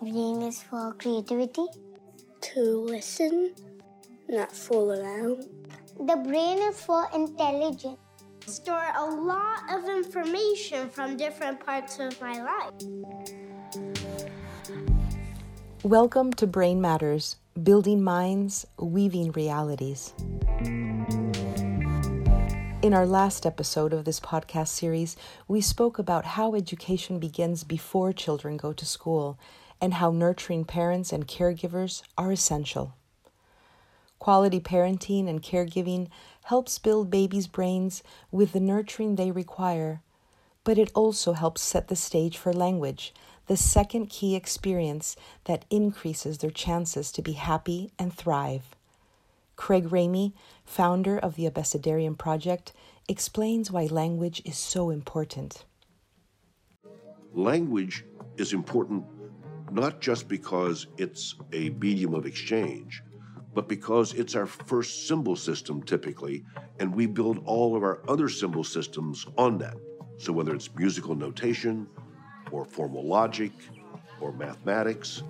Brain is for creativity. To listen, not fool around. The brain is for intelligence. Store a lot of information from different parts of my life. Welcome to Brain Matters, building minds, weaving realities. In our last episode of this podcast series, we spoke about how education begins before children go to school and how nurturing parents and caregivers are essential. Quality parenting and caregiving helps build babies' brains with the nurturing they require, but it also helps set the stage for language, the second key experience that increases their chances to be happy and thrive. Craig Ramey, founder of the Abecedarian Project, explains why language is so important. Language is important not just because it's a medium of exchange, but because it's our first symbol system typically, and we build all of our other symbol systems on that. So whether it's musical notation, or formal logic, or mathematics.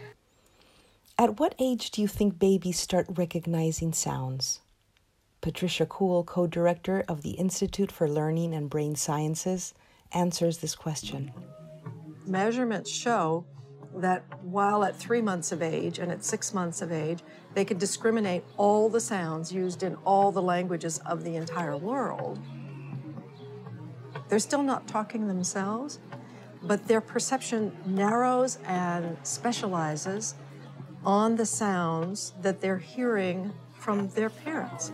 At what age do you think babies start recognizing sounds? Patricia Kuhl, co-director of the Institute for Learning and Brain Sciences, answers this question. Measurements show that while at 3 months of age and at 6 months of age, they could discriminate all the sounds used in all the languages of the entire world. They're still not talking themselves, but their perception narrows and specializes on the sounds that they're hearing from their parents.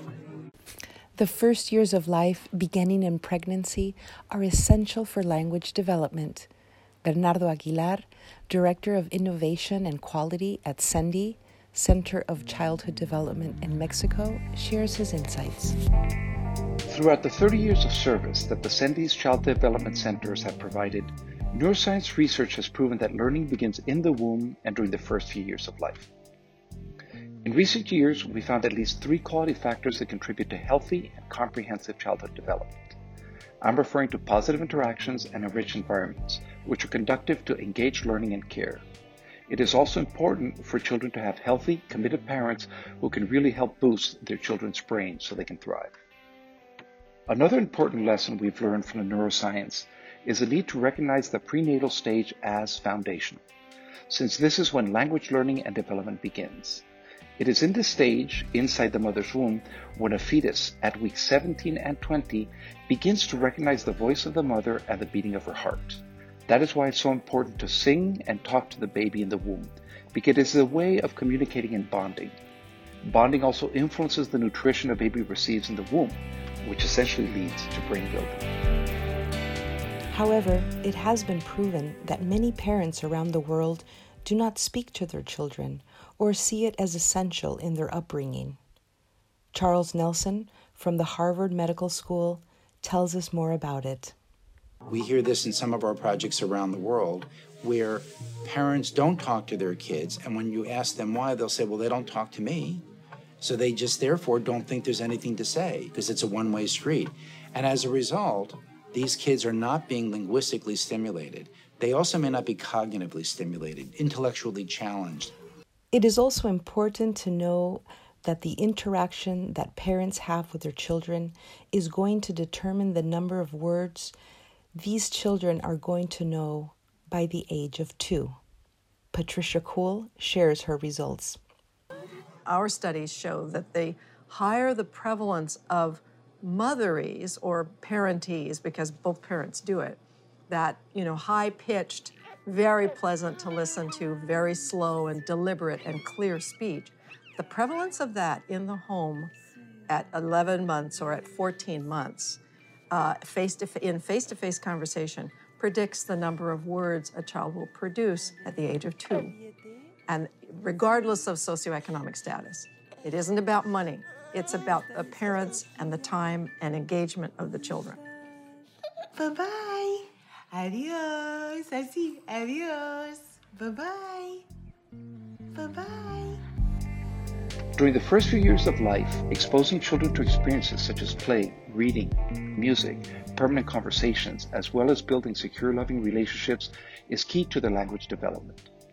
The first years of life, beginning in pregnancy, are essential for language development. Bernardo Aguilar, Director of Innovation and Quality at CENDI, Center of Childhood Development in Mexico, shares his insights. Throughout the 30 years of service that the CENDI's Child Development Centers have provided, neuroscience research has proven that learning begins in the womb and during the first few years of life. In recent years, we found at least 3 quality factors that contribute to healthy and comprehensive childhood development. I'm referring to positive interactions and enriched environments, which are conducive to engaged learning and care. It is also important for children to have healthy, committed parents who can really help boost their children's brains so they can thrive. Another important lesson we've learned from the neuroscience is the need to recognize the prenatal stage as foundational, since this is when language learning and development begins. It is in this stage, inside the mother's womb, when a fetus at weeks 17 and 20 begins to recognize the voice of the mother and the beating of her heart. That is why it's so important to sing and talk to the baby in the womb, because it is a way of communicating and bonding. Bonding also influences the nutrition a baby receives in the womb, which essentially leads to brain building. However, it has been proven that many parents around the world do not speak to their children or see it as essential in their upbringing. Charles Nelson from the Harvard Medical School tells us more about it. We hear this in some of our projects around the world where parents don't talk to their kids, and when you ask them why, they'll say, well, they don't talk to me. So they just therefore don't think there's anything to say because it's a one-way street. And as a result, these kids are not being linguistically stimulated. They also may not be cognitively stimulated, intellectually challenged. It is also important to know that the interaction that parents have with their children is going to determine the number of words these children are going to know by the age of 2. Patricia Kuhl shares her results. Our studies show that the higher the prevalence of motherese or parentese, because both parents do it, that, high-pitched, very pleasant to listen to, very slow and deliberate and clear speech, the prevalence of that in the home at 11 months or at 14 months, in face-to-face conversation, predicts the number of words a child will produce at the age of 2. And regardless of socioeconomic status, it isn't about money. It's about the parents and the time and engagement of the children. Bye-bye. Adios. Así. Adios. Bye-bye. Bye-bye. During the first few years of life, exposing children to experiences such as play, reading, music, permanent conversations, as well as building secure, loving relationships is key to their language development.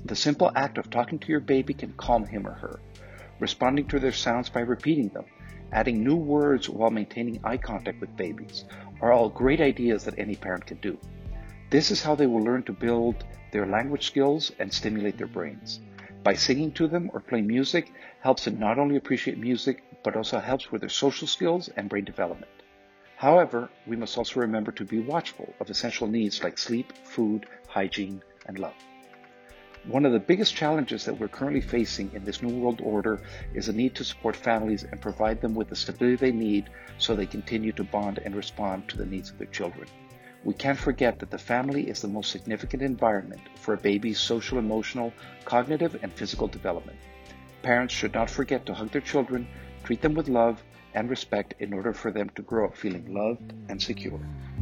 The simple act of talking to your baby can calm him or her. Responding to their sounds by repeating them, adding new words while maintaining eye contact with babies are all great ideas that any parent can do. This is how they will learn to build their language skills and stimulate their brains. By singing to them or playing music helps them not only appreciate music, but also helps with their social skills and brain development. However, we must also remember to be watchful of essential needs like sleep, food, hygiene, and love. One of the biggest challenges that we're currently facing in this new world order is the need to support families and provide them with the stability they need so they continue to bond and respond to the needs of their children. We can't forget that the family is the most significant environment for a baby's social, emotional, cognitive, and physical development. Parents should not forget to hug their children, treat them with love and respect in order for them to grow up feeling loved and secure.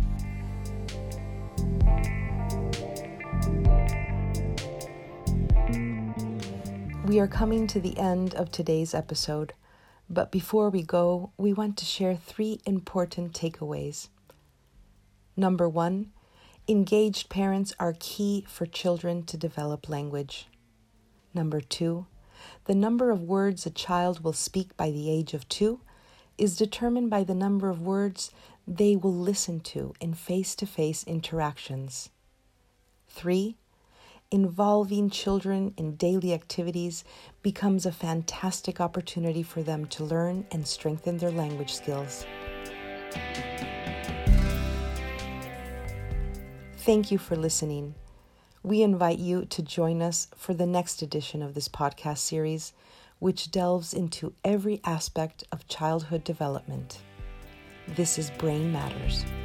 We are coming to the end of today's episode, but before we go, we want to share 3 important takeaways. Number 1, engaged parents are key for children to develop language. Number 2, the number of words a child will speak by the age of 2 is determined by the number of words they will listen to in face-to-face interactions. 3, involving children in daily activities becomes a fantastic opportunity for them to learn and strengthen their language skills. Thank you for listening. We invite you to join us for the next edition of this podcast series, which delves into every aspect of childhood development. This is Brain Matters.